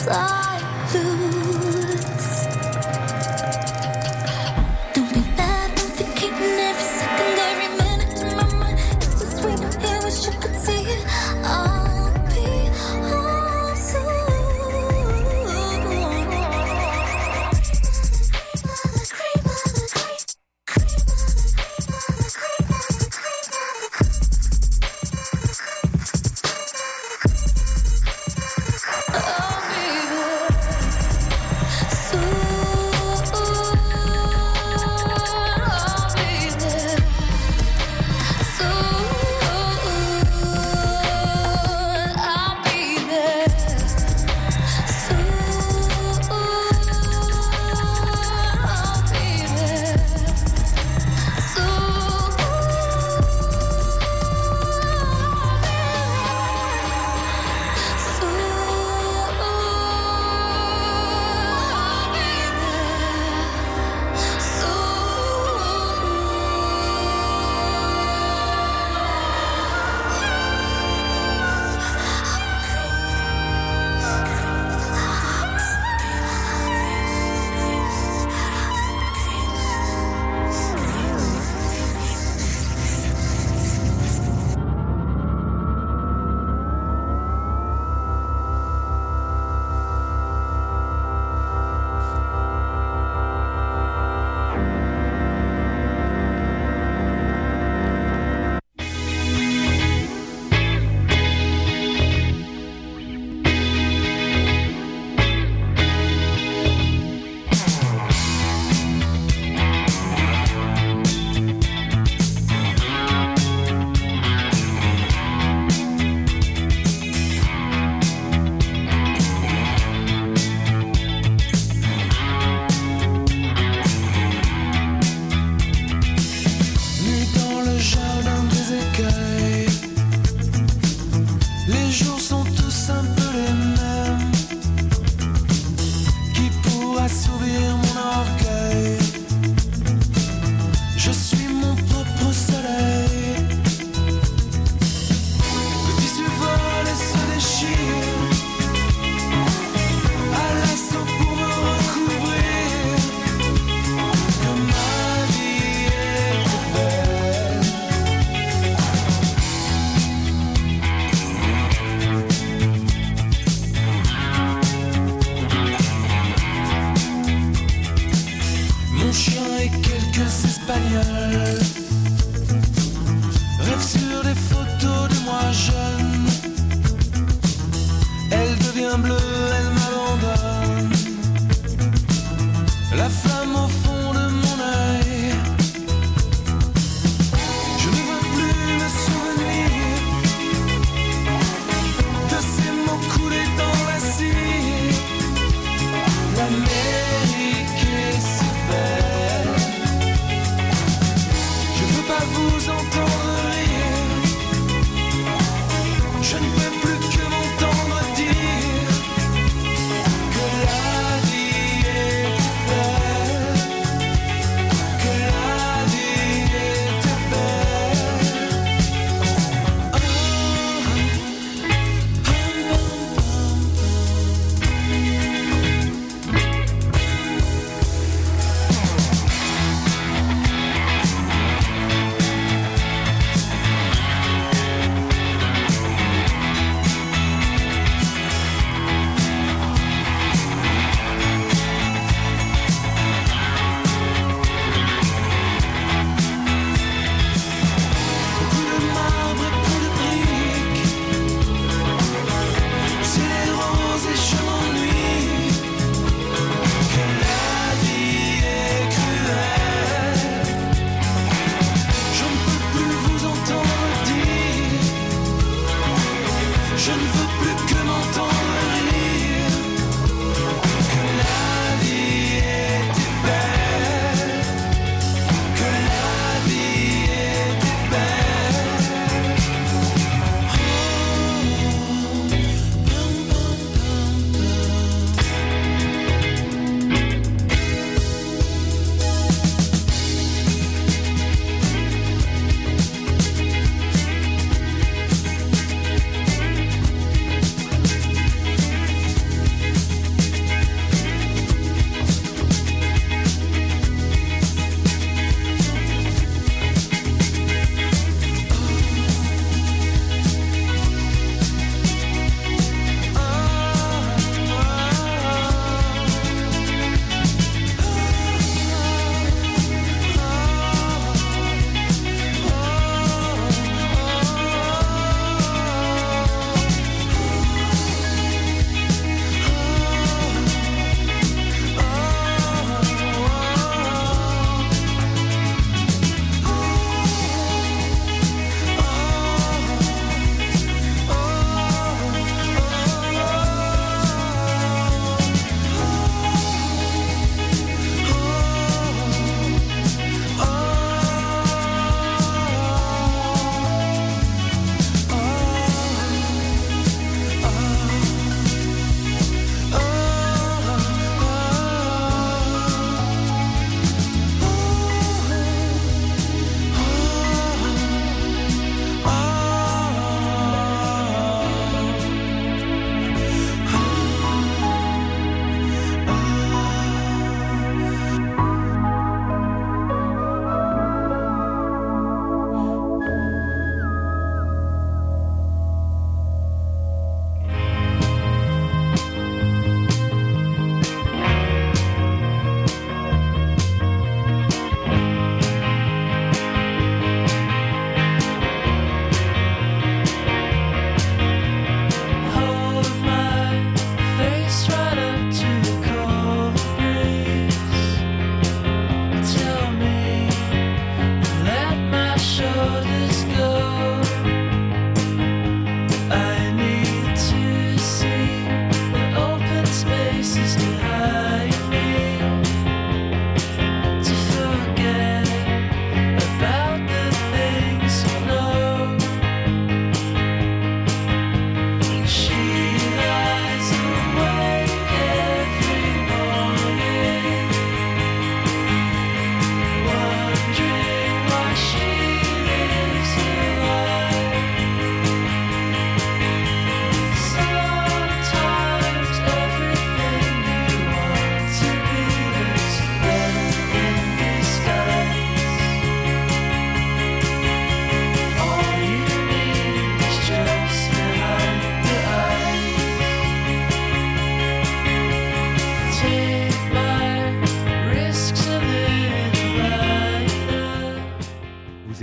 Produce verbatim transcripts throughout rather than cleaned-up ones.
Je ne peux plus que m'entendre dire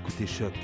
écoutez Choc.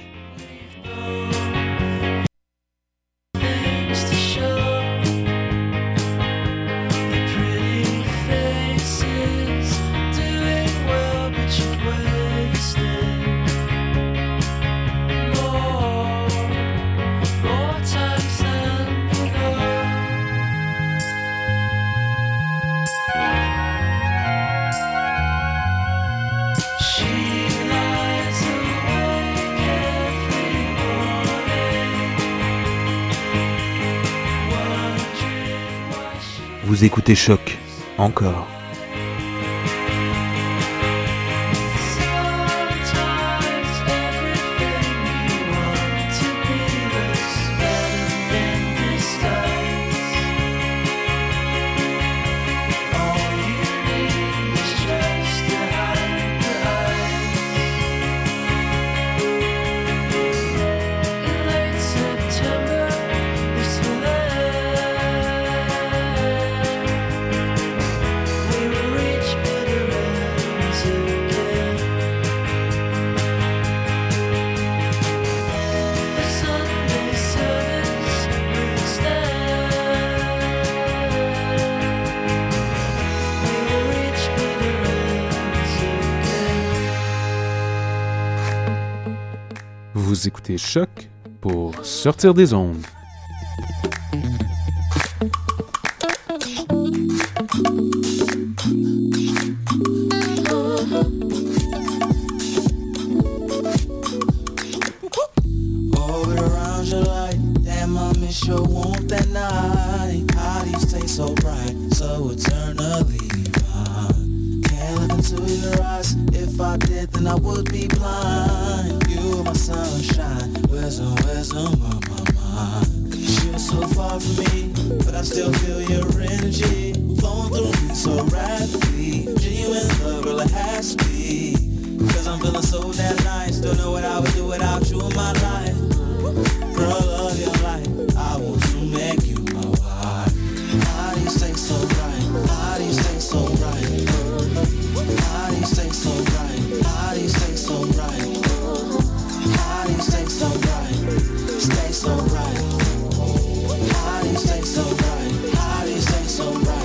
Vous écoutez Choc, encore. Vous écoutez Choc pour sortir des ondes. Stay so bright.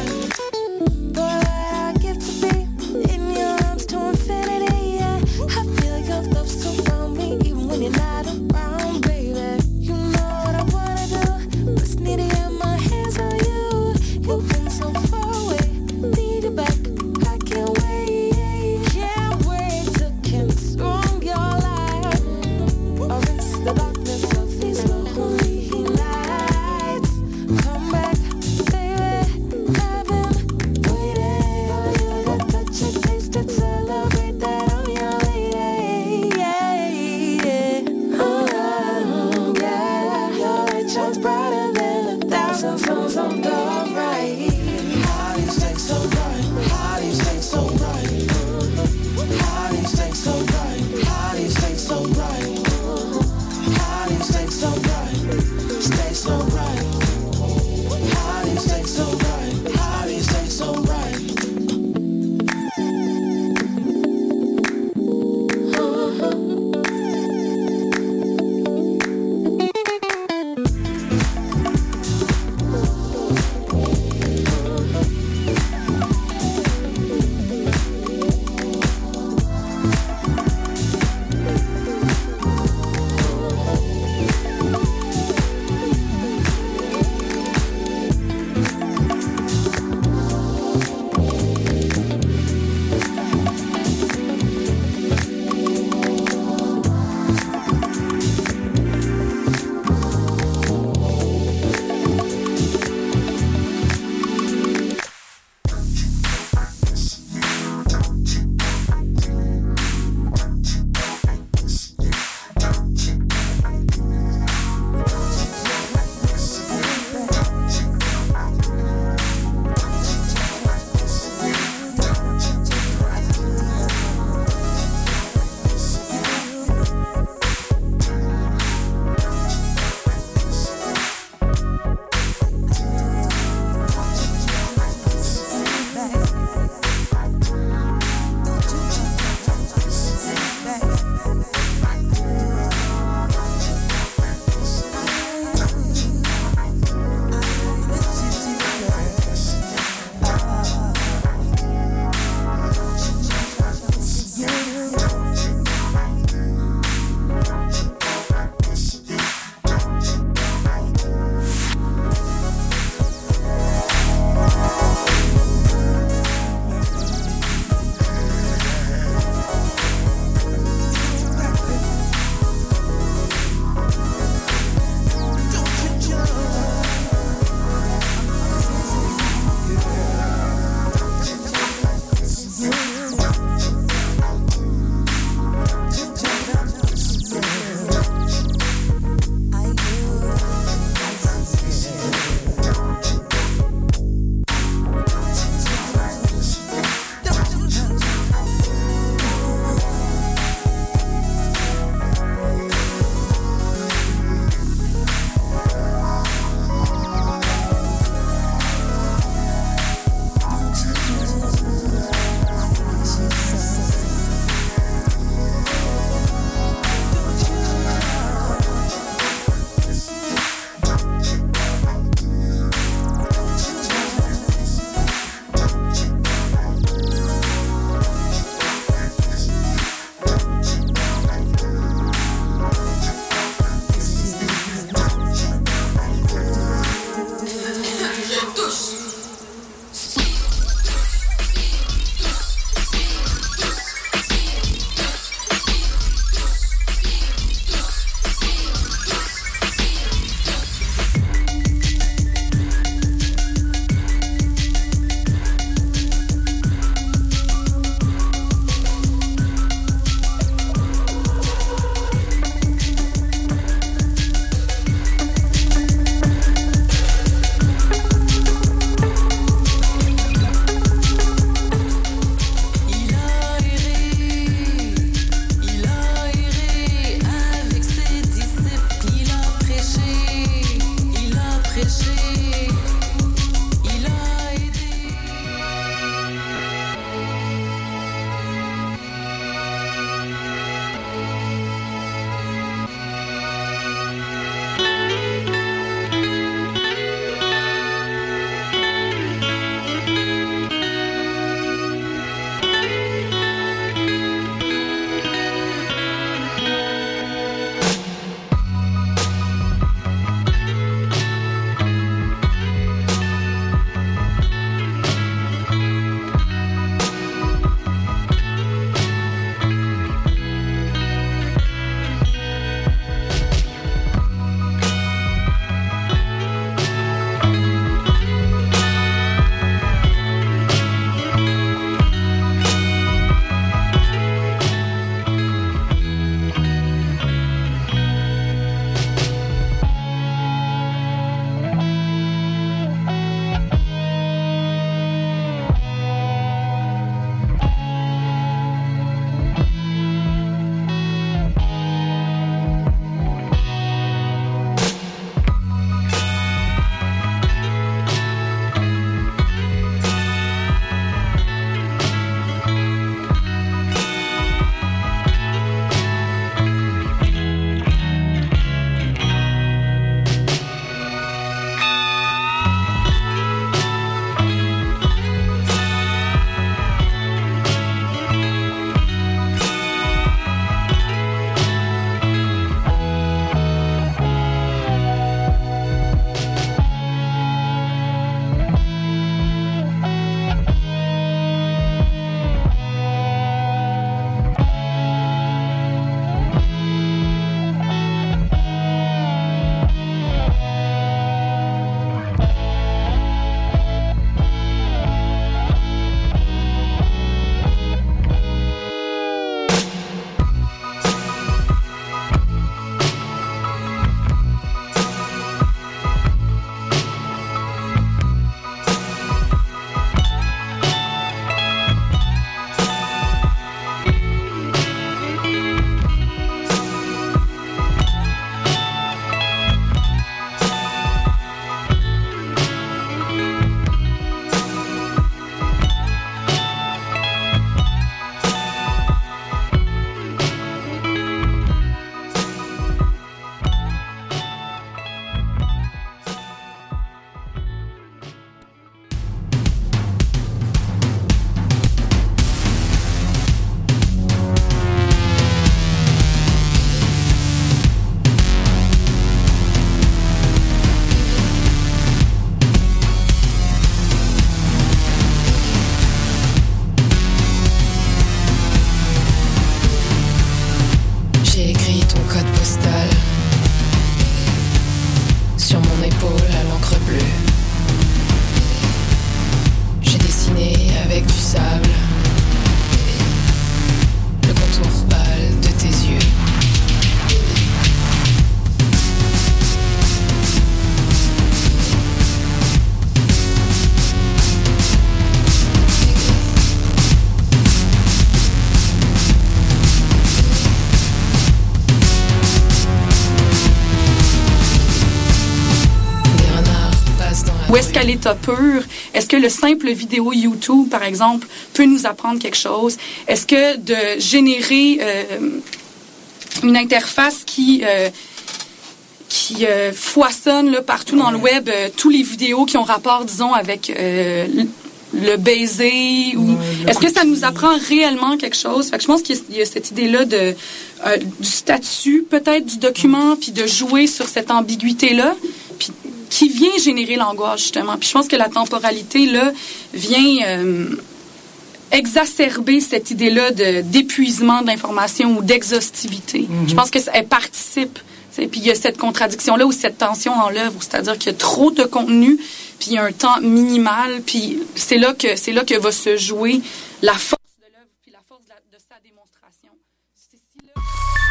Ou est-ce qu'à l'état pur, est-ce que le simple vidéo YouTube, par exemple, peut nous apprendre quelque chose? Est-ce que de générer euh, une interface qui... Euh, qui euh, foisonne là, partout dans le web, euh, tous les vidéos qui ont rapport, disons, avec euh, le baiser, ou ouais, est-ce que ça nous apprend réellement quelque chose? Fait que je pense qu'il y a cette idée-là de euh, du statut, peut-être, du document, puis de jouer sur cette ambiguïté-là, puis qui vient générer l'angoisse, justement. Puis je pense que la temporalité, là, vient euh, exacerber cette idée-là de, d'épuisement de l'information ou d'exhaustivité. Mm-hmm. Je pense qu'elle participe. Et puis il y a cette contradiction-là ou cette tension dans l'œuvre, c'est-à-dire qu'il y a trop de contenu, puis il y a un temps minimal, puis c'est là que c'est là que va se jouer la force de l'œuvre, puis la force de, la, de sa démonstration. C'est si là...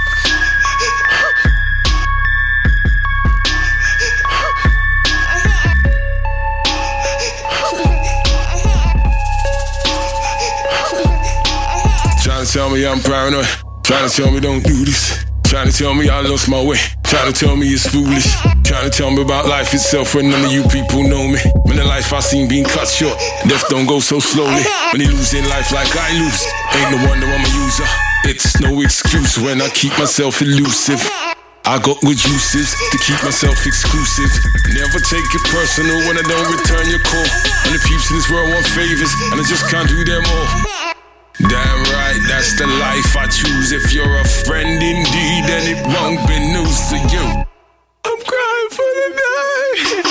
Trying to tell me I'm paranoid, trying to tell me don't do this. Trying to tell me I lost my way, trying to tell me it's foolish. Trying to tell me about life itself when none of you people know me. When the life I seen being cut short, death don't go so slowly. When you lose in life like I lose, ain't no wonder I'm a user. It's no excuse when I keep myself elusive. I got good uses to keep myself exclusive. Never take it personal when I don't return your call. And the peeps in this world want favors, and I just can't do them all. Damn right, that's the life I choose. If you're a friend indeed, then it won't be news to you. I'm crying for the night.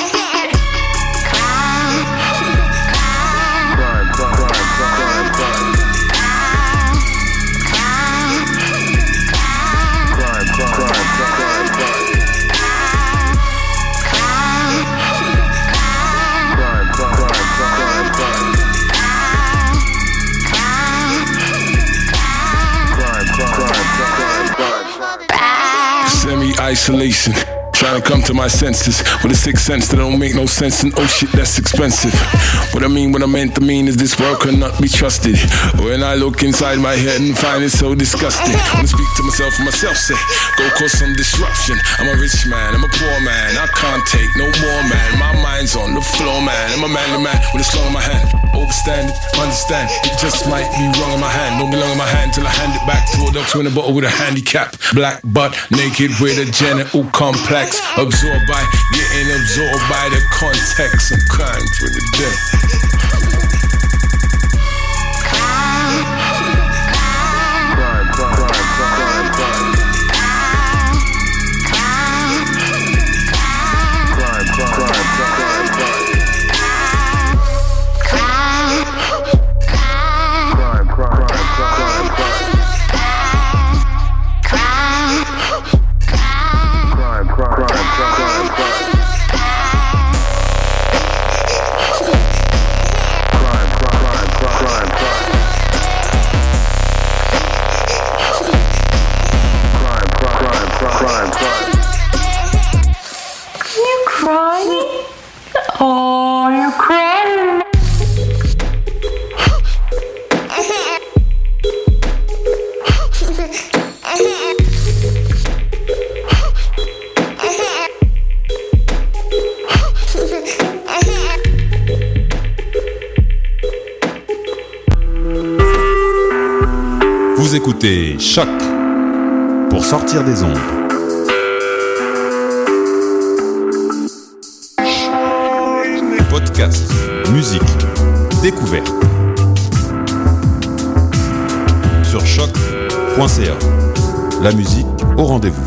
Cry, cry, cry, cry, cry. Cry, cry, cry, cry, cry. Semi-isolation, trying to come to my senses with a sixth sense that don't make no sense, and oh shit, that's expensive. What I mean, what I meant to mean is this world cannot be trusted. When I look inside my head and find it so disgusting, when I speak to myself and myself say, go cause some disruption. I'm a rich man, I'm a poor man, I can't take no more, man. My mind's on the floor, man. I'm a manly man with a slung in my hand. Overstand it, understand, it just might be wrong in my hand. Don't belong in my hand till I hand it back to a doctor in a bottle with a handicap. Black butt, naked with a genital complex. Absorbed by, getting absorbed by the context. I'm crying for the death. Vous écoutez Choc pour sortir des ondes. Podcast, musique, découverte. Sur choc point c a. La musique au rendez-vous.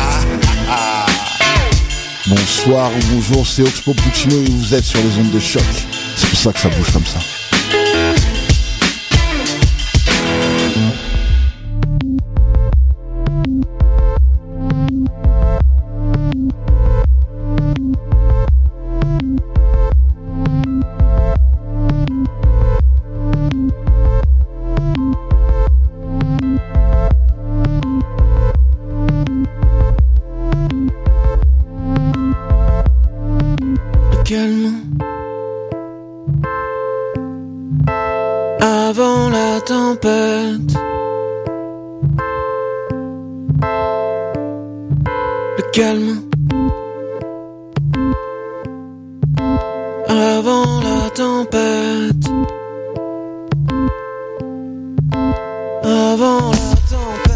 Bonsoir ou bonjour, c'est Oxpo Puccino et vous êtes sur les ondes de Choc. C'est pour ça que ça bouge comme ça. Avant la tempête, le calme. tempête. Avant la tempête.